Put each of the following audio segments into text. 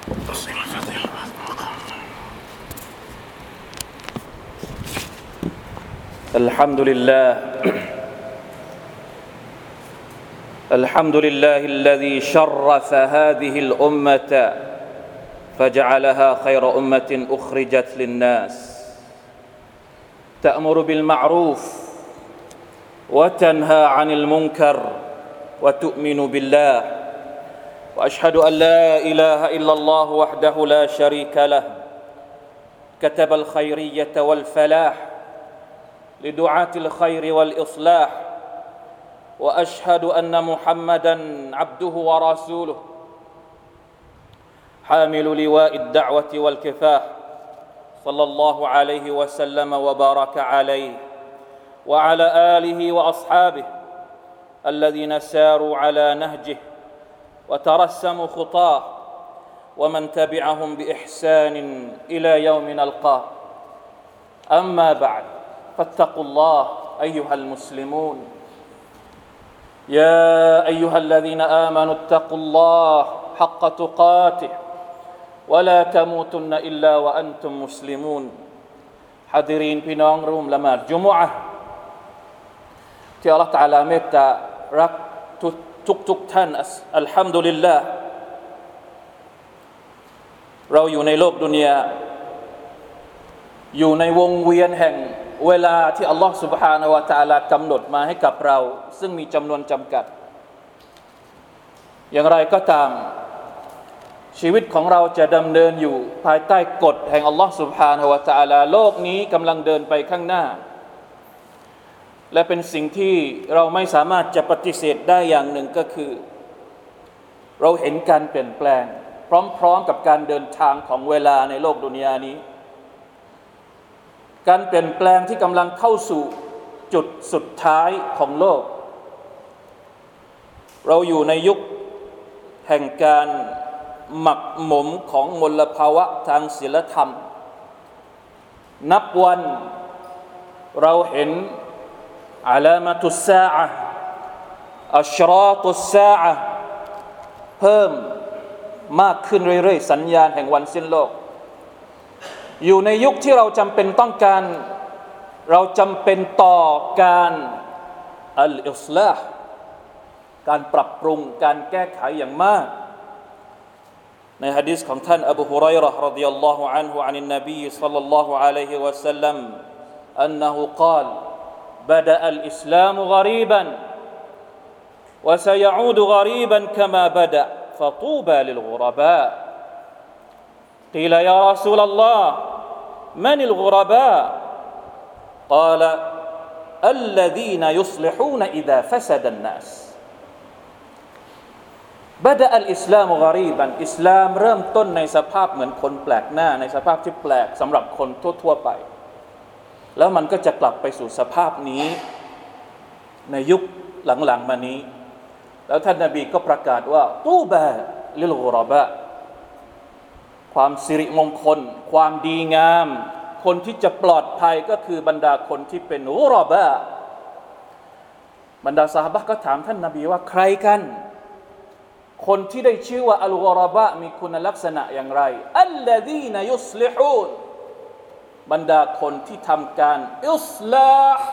الحمد لله الحمد لله الذي شرف هذه الأمة فجعلها خير أمة أخرجت للناس تأمر بالمعروف وتنهى عن المنكر وتؤمن بالله وأشهد أن لا إله إلا الله وحده لا شريك له كتب الخيرية والفلاح لدعاة الخير والإصلاح وأشهد أن محمدًا عبده ورسوله حامل لواء الدعوة والكفاح صلى الله عليه وسلم وبارك عليه وعلى آله وأصحابه الذين ساروا على نهجه وترسموا خطاه ومن تبعهم بإحسان إلى يوم نلقاه أما بعد فاتقوا الله أيها المسلمون يا أيها الذين آمنوا اتقوا الله حق تقاته ولا تموتن إلا وأنتم مسلمون حاضرين พี่น้องร่วมละหมาดจุมอะห์ที่อัลเลาะห์ตะอาลาเมตตารักทุกท่านอัลฮัมดุลิลลาห์เราอยู่ในโลกดุนยาอยู่ในวงเวียนแห่งเวลาที่อัลลอฮฺ سبحانه และ تعالى กำหนดมาให้กับเราซึ่งมีจำนวนจำกัดอย่างไรก็ตามชีวิตของเราจะดำเนินอยู่ภายใต้กฎแห่งอัลลอฮฺ سبحانه และ تعالى โลกนี้กำลังเดินไปข้างหน้าและเป็นสิ่งที่เราไม่สามารถจะปฏิเสธได้อย่างหนึ่งก็คือเราเห็นการเปลี่ยนแปลงพร้อมๆกับการเดินทางของเวลาในโลกดุนยานี้การเปลี่ยนแปลงที่กำลังเข้าสู่จุดสุดท้ายของโลกเราอยู่ในยุคแห่งการหมักหมมของมลภาวะทางศีลธรรมนับวันเราเห็นอะลามะตุสซาอะห์อัชราตุสซาอะห์เพิ่มมากขึ้นเรื่อยๆสัญญาณแห่งวันสิ้นโลกอยู่ในยุคที่เราจำเป็นต้องการเราจำเป็นต่อการอัลอิศลาห์การปรับปรุงการแก้ไขอย่างมากในหะดีษของท่านอบูฮุรอยเราะห์รอฎิยัลลอฮุอันฮุอานินนบีศ็อลลัลลอฮุอะลัยฮิวะซัลลัมอันนะฮูกาลبدأ الإسلام غريبا وسيعود غريبا كما بدأ فطوبى للغرباء قيل يا رسول الله من الغرباء قال الذين يصلحون إذا فسد الناس بدأ الإسلام غريبا อิสลามเริ่มต้นในสภาพเหมือนคนแปลกหน้าในสภาพที่แปลกสำหรับคนทั่วๆไปแล้วมันก็จะกลับไปสู่สภาพนี้ในยุคหลังๆมานี้แล้วท่านนบีก็ประกาศว่าตูบะลิลกุรบะความสิริมงคลความดีงามคนที่จะปลอดภัยก็คือบรรดาคนที่เป็นกุรบะบรรดาซอฮาบะห์ก็ถามท่านนบีว่าใครกันคนที่ได้ชื่อว่าอัลกุรบะมีคุณลักษณะอย่างไรอัลลซีนยุศลิฮูนบรรดาคนที่ทำการอิศลาห์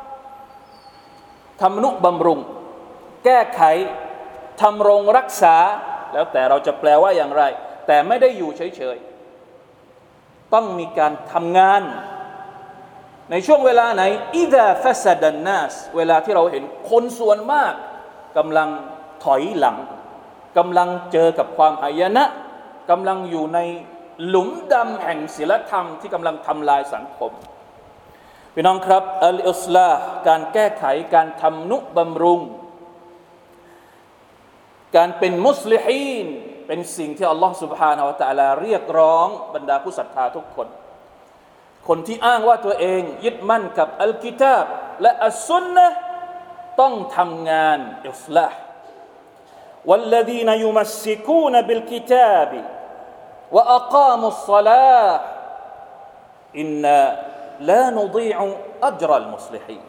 ทำนุบำรุงแก้ไขทำรงรักษาแล้วแต่เราจะแปลว่าอย่างไรแต่ไม่ได้อยู่เฉยๆต้องมีการทำงานในช่วงเวลาไหนอิซาฟัสดันนัสเวลาที่เราเห็นคนส่วนมากกำลังถอยหลังกำลังเจอกับความหายนะกำลังอยู่ในหลุมดำแห่งศีลธรรมที่กำลังทำลายสังคมพี่น้องครับอัลอิศลาห์การแก้ไขการทำนุบำรุงการเป็นมุสลิฮีนเป็นสิ่งที่อัลลอฮฺ سبحانه และ تعالى เรียกร้องบรรดาผู้ศรัทธาทุกคนคนที่อ้างว่าตัวเองยึดมั่นกับอัลกิตาบและอัสซุนนะห์ต้องทำงานอิศลาห์والذين يمسكون بالكتاب وأقاموا الصلاة إنا لا نضيع أجر المصلحين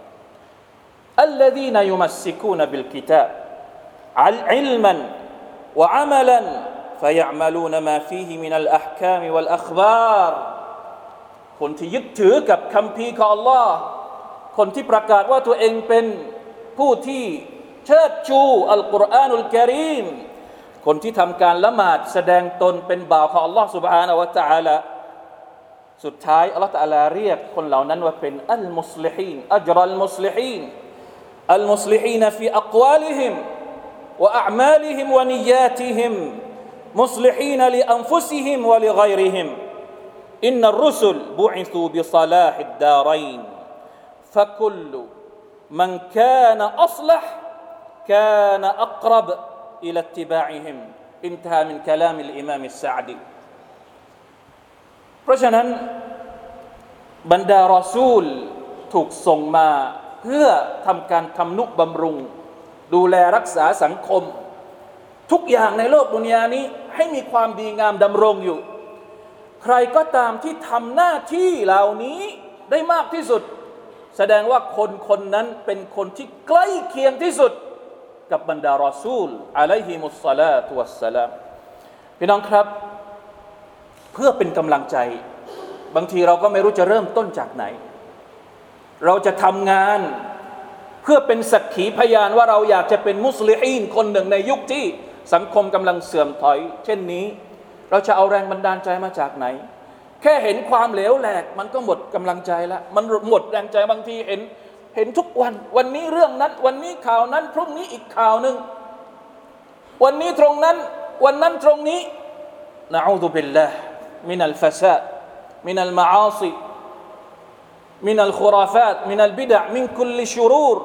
الذين يمسكون بالكتاب علما وعملا فيعملون ما فيه من الأحكام والأخبار คนที่ยึดถือกับคัมภีร์ของ Allah คนที่ประกาศว่าตัวเองเป็นผู้ที่เชิดชูอัลกุรอานุลกะรีมคนที่ทำการละหมาดแสดงตนเป็นบ่าวของ Allah سبحانه และ تعالى สุดท้าย Allah تعالى เรียกคนเหล่านั้นว่าเป็นอัลมุสลิฮีนอัจรัลมุสลิฮีนอัลมุสลิฮีนฟีอักวาลิฮิมวะอะอ์มาลิฮิมวะนิยาติฮิมมุสลิฮีนลิอันฟุซิฮิมวะลิฆอยริฮิมอินนัรรุสุลบุอิซูบิศอลาฮิดดารัยนฟะคุลมันกานะอัศละฮ์กานะอักรบอิลาอิตติบาอิฮิมอินตะฮามินกะลามิลอิมามอัสซะอดีเพราะฉะนั้นบรรดารอซูลถูกส่งมาเพื่อทำการทำนุบำรุงดูแลรักษาสังคมทุกอย่างในโลกดุนยานี้ให้มีความดีงามดำรงอยู่ใครก็ตามที่ทำหน้าที่เหล่านี้ได้มากที่สุดแสดงว่าคนคนนั้นเป็นคนที่ใกล้เคียงที่สุดกับบรรดารอซูลอะลัยฮิมุสศอลาตุวัสสลามพี่น้องครับเพื่อเป็นกำลังใจบางทีเราก็ไม่รู้จะเริ่มต้นจากไหนเราจะทำงานเพื่อเป็นสักขีพยานว่าเราอยากจะเป็นมุสลิฮีนคนหนึ่งในยุคที่สังคมกำลังเสื่อมถอยเช่นนี้เราจะเอาแรงบันดาลใจมาจากไหนแค่เห็นความเหลวแหลกมันก็หมดกำลังใจแล้วมันหมดแรงใจบางทีเห็นทุกวันนี้เรื่องนั้นวันนี้ข่าวนั้นพรุ่งนี้อีกข่าวนึงวันนี้ตรงนั้นวันนั้นตรงนี้นะอูซุบิลลาฮ์มินัลฟะซาดมินัลมะอาซิมินัลคุราฟาตมินัลบิดะมินคุลลิชุรูร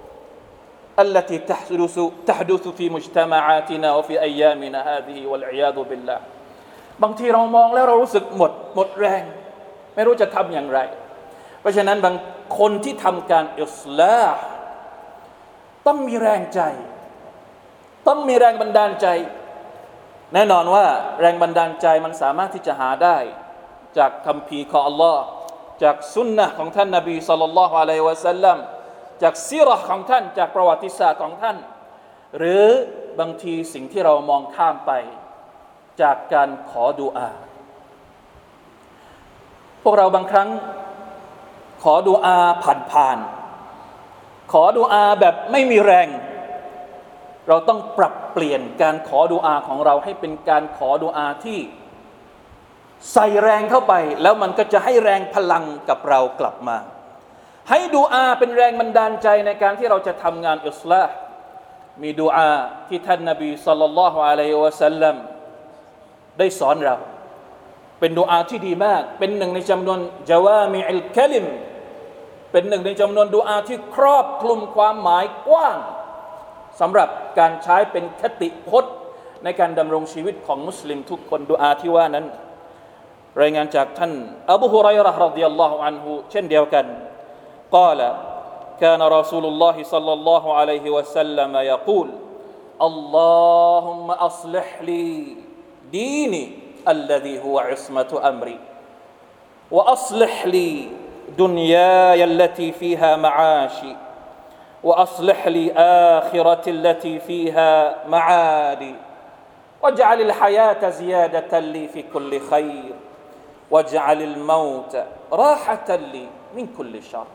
التي تحدث في مجتمعاتنا وفي أيامنا هذه والعياذ بالله บางทีเรามองแล้วเรารู้สึกหมดแรงไม่รู้จะทำอย่างไรเพราะฉะนั้นบางคนที่ทำการอิศลาห์ต้องมีแรงใจต้องมีแรงบันดาลใจแน่นอนว่าแรงบันดาลใจมันสามารถที่จะหาได้จากคัมภีร์ของ Allah จากสุนนะห์ของท่านนบีศ็อลลัลลอฮุอะลัยฮิวะซัลลัมจากซีเราะห์ของท่านจากประวัติศาสตร์ของท่านหรือบางทีสิ่งที่เรามองข้ามไปจากการขอดุอาพวกเราบางครั้งขอดุอาผ่านขอดุอาแบบไม่มีแรงเราต้องปรับเปลี่ยนการขอดุอาของเราให้เป็นการขอดุอาที่ใส่แรงเข้าไปแล้วมันก็จะให้แรงพลังกับเรากลับมาให้ดุอาเป็นแรงบันดาลใจในการที่เราจะทำงานอิศลาห์มีดุอาที่ท่านนบีศ็อลลัลลอฮุอะลัยฮิวะซัลลัมได้สอนเราเป็นดุอาที่ดีมากเป็นหนึ่งในจำนวนญะวามิอุลกะลิมเป็นหนึ่งในจำนวนดุอาที่ครอบคลุมความหมายกว้างสำหรับการใช้เป็นคติพจน์ในการดำรงชีวิตของมุสลิมทุกคนดุอาที่ว่านั้นรายงานจากท่านอบูฮุรอยเราะห์รอฎิยัลลอฮุอันฮุเช่นเดียวกันقال كان رسول الله صلى الله عليه وسلم يقول اللهم أصلح لي ديني الذي هو عصمة أمري وأصلح لي دنياي التي فيها معاشي وأصلح لي آخرتي التي فيها معادي واجعل الحياة زيادة لي في كل خير واجعل الموت راحة لي من كل شر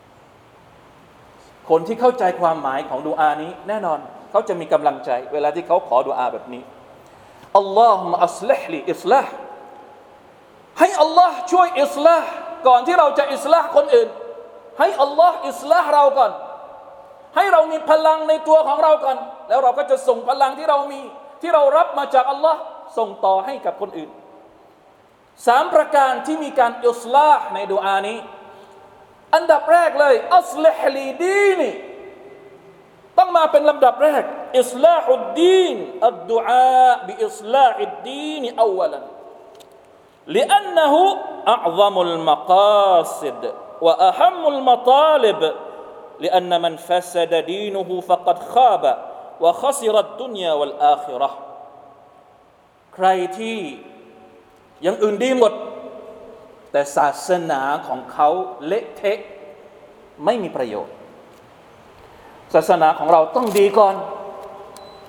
คนที่เข้าใจความหมายของดุอานี้แน่นอนเขาจะมีกำลังใจเวลาที่เขาขอดุอาแบบนี้อัลลอฮุมะอัศลิฮลีอิศลาห์ให้อัลลอฮ์ช่วยอิศลาห์ก่อนที่เราจะอิศลาห์คนอื่นให้อัลลอฮ์อิศลาห์เราก่อนให้เรามีพลังในตัวของเราก่อนแล้วเราก็จะส่งพลังที่เรามีที่เรารับมาจากอัลลอฮ์ส่งต่อให้กับคนอื่น3ประการที่มีการอิศลาห์ในดุอานี้อันดับแรกเลยอัศลิฮลีดีนีต้องมาเป็นลำดับแรกอิศลาฮุดดีนอัดดุอาบิอิศลาฮิดดีนอวัลัน لأنه أعظم المقاصد وأهم المطالب لأن من فسد دينه فقد خاب وخسر الدنيا والآخرة ใครที่อย่างอื่นดีหมดแต่ศาสนาของเขาเละเทะไม่มีประโยชน์ศาสนาของเราต้องดีก่อน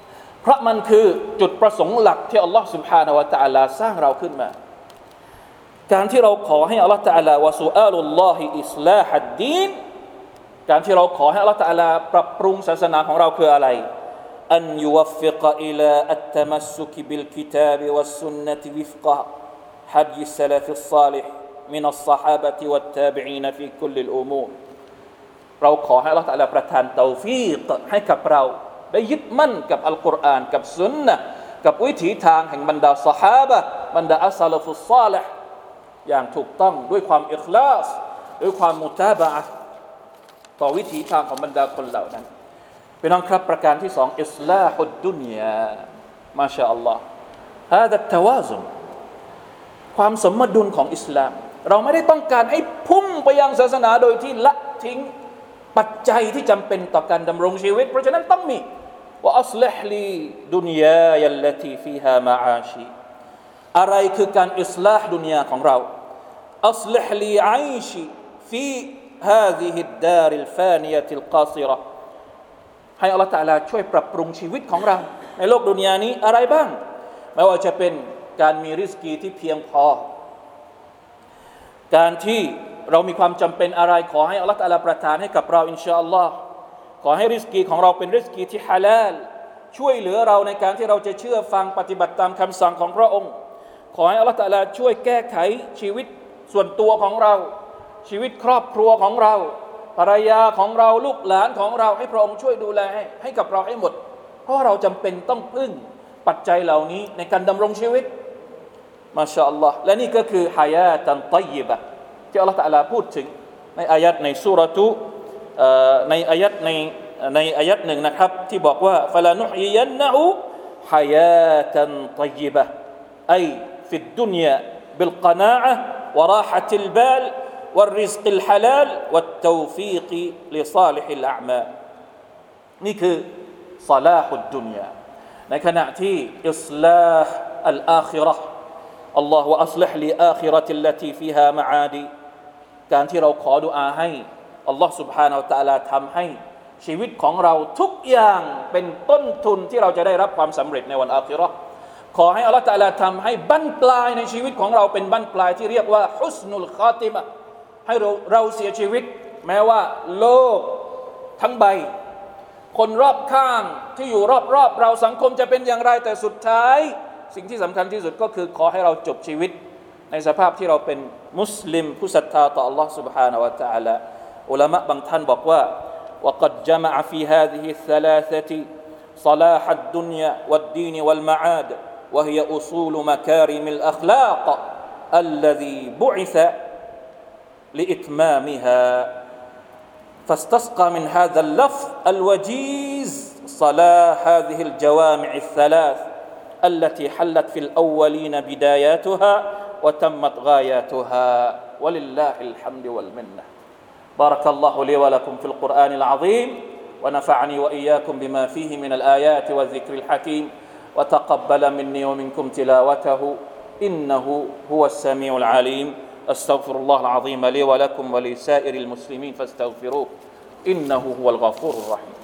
เพราะมันคือจุดประสงค์หลักที่อัลลอฮฺ سبحانه และ تعالى สร้างเราขึ้นมาการที่เราขอให้อัลลอฮฺ تعالى วะซุอาลุลลอฮิอิศลาฮัดดีนการที่เราขอให้อัลลอฮฺ تعالى ปรับปรุงศาสนาของเราคืออะไรอันยุวัฟฟิกอิลาอัตตะมัสซุกบิลกิตาบวัสซุนนะฮ์วิฟกะฮัดีษซะลาฟิศศอลิฮมินัสศอฮาบะติวัตตาบิอีนฟีคุลลิลอุมูรเราขอให้อัลลอฮฺ تعالى ประทานเตาฟีกให้กับเราได้ยึดมั่นกับอัลกุรอานกับสุนนะห์กับวิถีทางแห่งบรรดาซอฮาบะห์บรรดาอัสซะลาฟุศศอลิฮอย่างถูกต้องด้วยความอิคลาสด้วยความมุตาบะอะห์ต่อวิถีทางของบรรดาคนเหล่านั้นพี่น้องครับประการที่สองอิศลาฮุดดุนยามาชาอัลลอฮ์هذا التوازن ความสมดุลของอิสลามเราไม่ได้ต้องการให้พุ่งไปยังศาสนาโดยที่ละทิ้งปัจจัยที่จำเป็นต่อการดำรงชีวิตเพราะฉะนั้นต้องมีว่าอัศลิฮลีดุนยายัลลตีฟีฮามาอาชีอะไรคือการอิศลาฮ์ดุนยาของเราอัศลิฮลีไอชีฟีهذه الدار الفانية القاصرة ให้อัลเลาะห์ตะอาลาช่วยปรับปรุงชีวิตของเราในโลกดุนยานี้อะไรบ้างไม่ว่าจะเป็นการมีริสกีที่เพียงพอการที่เรามีความจำเป็นอะไรขอให้อัลเลาะห์ตะอาลาประทานให้กับเราอินชาอัลลอฮ์ขอให้ริสกีของเราเป็นริสกีที่ฮาลาลช่วยเหลือเราในการที่เราจะเชื่อฟังปฏิบัติตามคำสั่งของพระองค์ขอให้อัลเลาะห์ตะอาลาช่วยแก้ไขชีวิตส่วนตัวของเราชีวิตครอบครัวของเราภรรยาของเราลูกหลานของเราให้พระองค์ช่วยดูแลให้กับเราให้หมดเพราะเราจำเป็นต้องพึ่งปัจจัยเหล่านี้ในการดำรงชีวิตมาชาอัลลอฮ์และนี่ก็คือฮายาตันฏอยยิบะห์ที่อัลเลาะห์ตะอาลาพูดถึงในอายัดในซูเราะตุในอายัดหนึ่งนะครับที่บอกว่าฟะลานุฮยิยันนะฮูฮายาตันฏอยยิบะห์ไอฟิดดุนยาบิลกอนาอะฮ์วะราฮะติลบาลوالرزق الحلال والتوفيق لصالح الأعمال นี่คือศอลาฮุดดุนยาในขณะที่อิศลาฮ์อัลอาคิเราะห์อัลลอฮฺวะอัศลิฮลีอาคิเราะติลลตีฟีฮามะอาดีการที่เราขอดุอาให้อัลลอฮฺ سبحانه และ تعالى ทำให้ชีวิตของเราทุกอย่างเป็นต้นทุนที่เราจะได้รับความสำเร็จในวันอาคิเราะห์ขอให้อัลลอฮฺ تعالى ทำให้บั้นปลายในชีวิตของเราเป็นบั้นปลายที่เรียกว่าฮุสนุลคอติมะห์ให้เราเสียชีวิตแม้ว่าโลกทั้งใบคนรอบข้างที่อยู่รอบๆเราสังคมจะเป็นอย่างไรแต่สุดท้ายสิ่งที่สำคัญที่สุดก็คือขอให้เราจบชีวิตในสภาพที่เราเป็นมุสลิมผู้ศรัทธาต่อ Allah سبحانه และ تعالى อุลามะบางท่านบอกว่า وقد جمع في هذه الثلاثة صلاح الدنيا والدين والمعاد وهي أصول مكارم الأخلاق الذي بعث لإتمامها فاستسقى من هذا اللفظ الوجيز صلاح هذه الجوامع الثلاث التي حلت في الأولين بداياتها وتمت غاياتها ولله الحمد والمنة بارك الله لي ولكم في القرآن العظيم ونفعني وإياكم بما فيه من الآيات والذكر الحكيم وتقبل مني ومنكم تلاوته إنه هو السميع العليم أستغفر الله العظيم لي ولكم ولسائر المسلمين فاستغفروه إنه هو الغفور الرحيم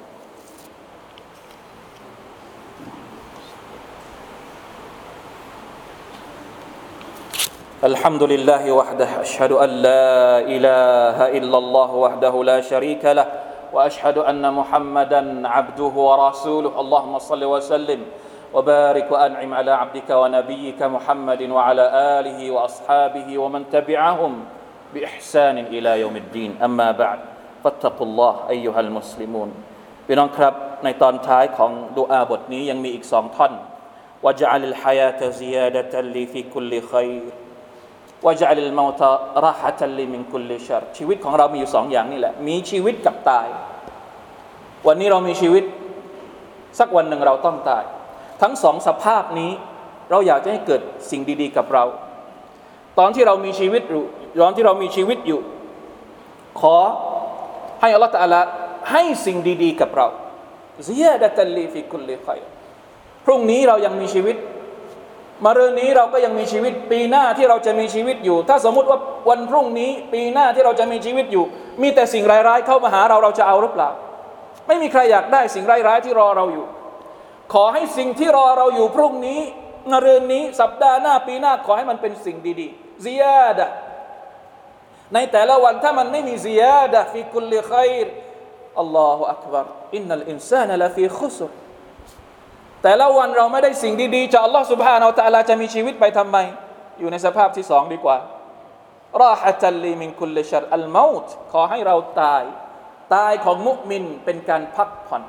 الحمد لله وحده أشهد أن لا إله إلا الله وحده لا شريك له وأشهد أن محمدا عبده ورسوله اللهم صل وسلم وبارك وأنعم على عبدك ونبيك محمد وعلى آله وأصحابه ومن تبعهم بإحسان إلى يوم الدين أما بعد فاتقوا الله أيها المسلمون พี่น้องครับในตอนท้ายของดุอาบทนี้ยังมีอีก2ท่อน وجعل الحياة زيادة لي في كل خير وجعل الموت راحة لي من كل شر ชีวิตของเรามีอยู่2อย่างนี่แหละมีชีวิตกับตายวันนี้เรามีชีวิตสักวันหนึ่งเราต้องตายทั้งสองสภาพนี้เราอยากจะให้เกิดสิ่งดีๆกับเราตอนที่เรามีชีวิตอยู่ขอให้อัลเลาะห์ตะอาลาให้สิ่งดีๆกับเราซิยาดะตัลลีฟิกุลลิค็อยรพรุ่งนี้เรายังมีชีวิตมะรืนนี้เราก็ยังมีชีวิตปีหน้าที่เราจะมีชีวิตอยู่ถ้าสมมุติว่าวันพรุ่งนี้ปีหน้าที่เราจะมีชีวิตอยู่มีแต่สิ่งร้ายๆเข้ามาหาเราจะเอาหรือเปล่าไม่มีใครอยากได้สิ่งร้ายๆที่รอเราอยู่ขอให้สิ่งที่รอเราอยู่พรุ่งนี้มะรืนนี้สัปดาห์หน้าปีหน้าขอให้มันเป็นสิ่งดีๆซิยาดะห์ในแต่ละวันถ้ามันไม่มีซิยาดะห์ฟีกุลลิค็อยรอัลลอฮุอักบัรอินนัลอินซานะลาฟีคุสรแต่ละวันเราไม่ได้สิ่งดีๆจากอัลลอฮฺ سبحانه และ تعالى จะมีชีวิตไปทำไมอยู่ในสภาพที่สองดีกว่าราฮะตัลลีมินคุลลิชัรอัลเมาต์ขอให้เราตายของมุมินเป็นการพักผ่อน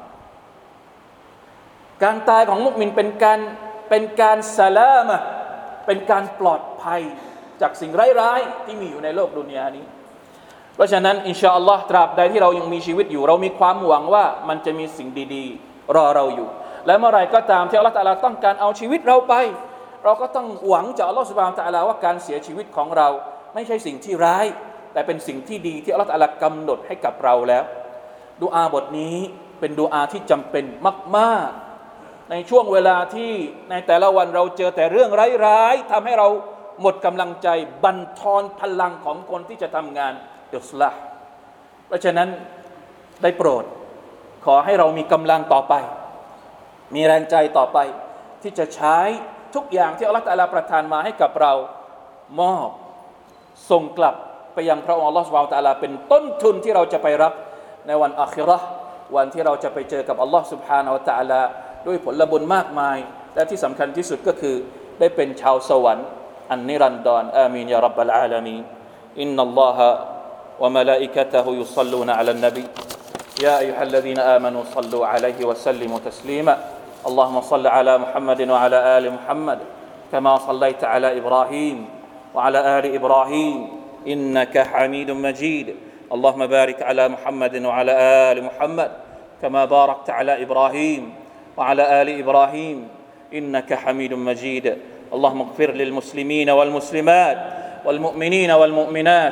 การตายของมุมินเป็นการสลามะห์เป็นการปลอดภัยจากสิ่งร้ายๆที่มีอยู่ในโลกดุนยานี้เพราะฉะนั้นอินชาอัลลอฮ์ตราบใดที่เรายังมีชีวิตอยู่เรามีความหวังว่ามันจะมีสิ่งดีๆรอเราอยู่และเมื่อไรก็ตามที่อัลลอฮ์ตะอาลาต้องการเอาชีวิตเราไปเราก็ต้องหวังจากอัลลอฮ์ซุบฮานะฮูวะตะอาลาว่าการเสียชีวิตของเราไม่ใช่สิ่งที่ร้ายแต่เป็นสิ่งที่ดีที่อัลลอฮ์ตะอาลากำหนดให้กับเราแล้วดุอาบทนี้เป็นดุอาที่จำเป็นมากๆในช่วงเวลาที่ในแต่ละวันเราเจอแต่เรื่องร้ายๆทำให้เราหมดกำลังใจบั่นทอนพลังของคนที่จะทำงานอิศลาห์เพราะฉะนั้นได้โปรดขอให้เรามีกำลังต่อไปมีแรงใจต่อไปที่จะใช้ทุกอย่างที่อัลลอฮฺตะอาลาประทานมาให้กับเรามอบส่งกลับไปยังพระองค์อัลลอฮฺซุบฮานะฮูวะตะอาลาเป็นต้นทุนที่เราจะไปรับในวันอาคิเราะห์วันที่เราจะไปเจอกับอัลลอฮฺซุบฮานะฮูวะตะอาลาด้วยผลบุญมากมายและที่สำคัญที่สุดก็คือได้เป็นชาวสวรรค์อันนิรันดรอามีนยารับบลอาลามีนอินนัลลอฮะวะมะลาอิกะตะฮุยุศ็อลลูนะอะลันนบียาอัยยูฮัลลซีนาอามานูศ็อลลูอะลัยฮิวะซัลลิมูตัสลีมาاللهم صل على محمد وعلى آل محمد كما صليت على إبراهيم وعلى آل إبراهيم إنك حميد مجيد اللهم بارك على محمد وعلى آل محمد كما باركت على إبراهيم وعلى آل إبراهيم إنك حميد مجيد اللهم اغفر للمسلمين والمسلمات والمؤمنين والمؤمنات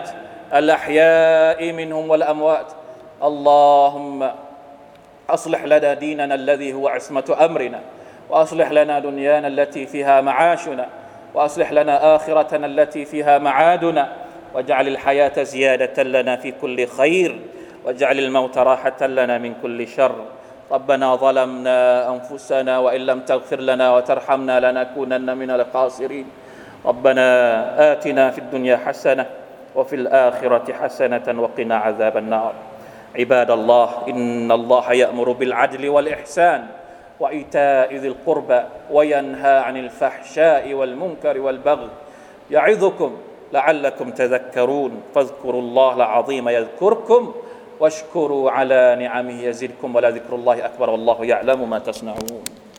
الأحياء منهم والأموات اللهم أصلح لنا ديننا الذي هو عصمة أمرنا وأصلح لنا دنيانا التي فيها معاشنا وأصلح لنا آخرتنا التي فيها معادنا واجعل الحياة زيادة لنا في كل خير واجعل الموت راحة لنا من كل شر ربنا ظلمنا أنفسنا وإن لم تغفر لنا وترحمنا لنكونن من الخاسرين ربنا آتنا في الدنيا حسنة وفي الآخرة حسنة وقنا عذاب النار عباد الله إن الله يأمر بالعدل والإحسان وإيتاء ذي القربى وينهى عن الفحشاء والمنكر والبغي يعظكم لعلكم تذكرون فاذكروا الله العظيم يذكركم واشكروا على نعمه يزدكم ولذكر الله أكبر والله يعلم ما تصنعون